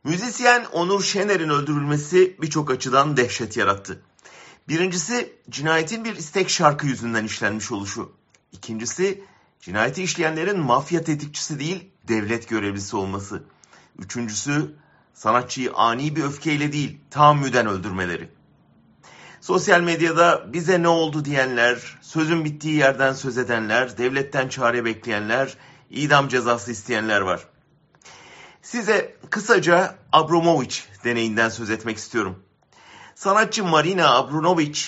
Müzisyen Onur Şener'in öldürülmesi birçok açıdan dehşet yarattı. Birincisi, cinayetin bir istek şarkı yüzünden işlenmiş oluşu. İkincisi, cinayeti işleyenlerin mafya tetikçisi değil, devlet görevlisi olması. Üçüncüsü, sanatçıyı ani bir öfkeyle değil, tahammüden öldürmeleri. Sosyal medyada bize ne oldu diyenler, sözün bittiği yerden söz edenler, devletten çare bekleyenler, idam cezası isteyenler var. Size kısaca Abramovich deneyinden söz etmek istiyorum. Sanatçı Marina Abramovich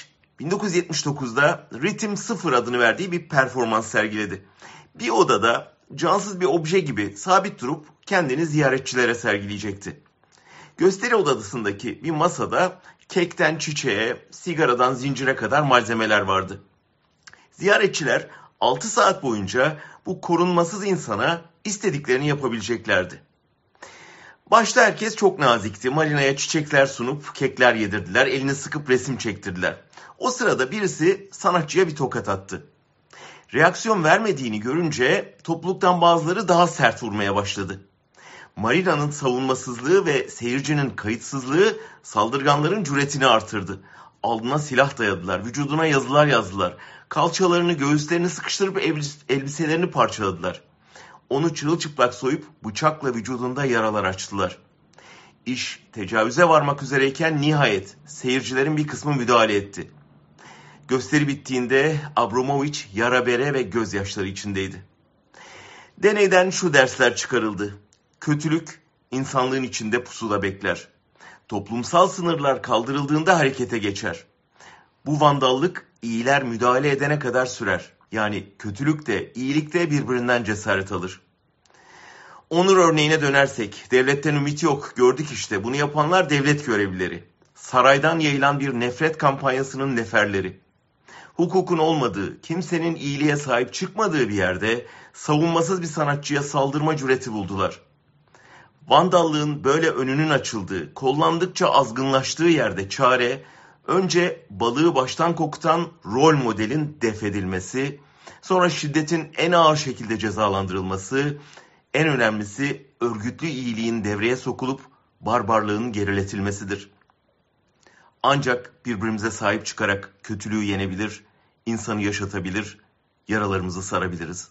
1979'da Ritim 0 adını verdiği bir performans sergiledi. Bir odada cansız bir obje gibi sabit durup kendini ziyaretçilere sergileyecekti. Gösteri odasındaki bir masada kekten çiçeğe, sigaradan zincire kadar malzemeler vardı. Ziyaretçiler 6 saat boyunca bu korunmasız insana istediklerini yapabileceklerdi. Başta herkes çok nazikti. Marina'ya çiçekler sunup kekler yedirdiler, elini sıkıp resim çektirdiler. O sırada birisi sanatçıya bir tokat attı. Reaksiyon vermediğini görünce topluluktan bazıları daha sert vurmaya başladı. Marina'nın savunmasızlığı ve seyircinin kayıtsızlığı saldırganların cüretini artırdı. Alnına silah dayadılar, vücuduna yazılar yazdılar. Kalçalarını, göğüslerini sıkıştırıp elbiselerini parçaladılar. Onu çırılçıplak soyup bıçakla vücudunda yaralar açtılar. İş tecavüze varmak üzereyken nihayet seyircilerin bir kısmı müdahale etti. Gösteri bittiğinde Abramovich yara bere ve gözyaşları içindeydi. Deneyden şu dersler çıkarıldı. Kötülük insanlığın içinde pusuda bekler. Toplumsal sınırlar kaldırıldığında harekete geçer. Bu vandallık iyiler müdahale edene kadar sürer. Yani kötülük de iyilik de birbirinden cesaret alır. Onur örneğine dönersek, devletten ümit yok, gördük işte, bunu yapanlar devlet görevlileri. Saraydan yayılan bir nefret kampanyasının neferleri. Hukukun olmadığı, kimsenin iyiliğe sahip çıkmadığı bir yerde savunmasız bir sanatçıya saldırma cüreti buldular. Vandallığın böyle önünün açıldığı, kollandıkça azgınlaştığı yerde çare, önce balığı baştan kokutan rol modelin def edilmesi, sonra şiddetin en ağır şekilde cezalandırılması, en önemlisi örgütlü iyiliğin devreye sokulup barbarlığın geriletilmesidir. Ancak birbirimize sahip çıkarak kötülüğü yenebilir, insanı yaşatabilir, yaralarımızı sarabiliriz.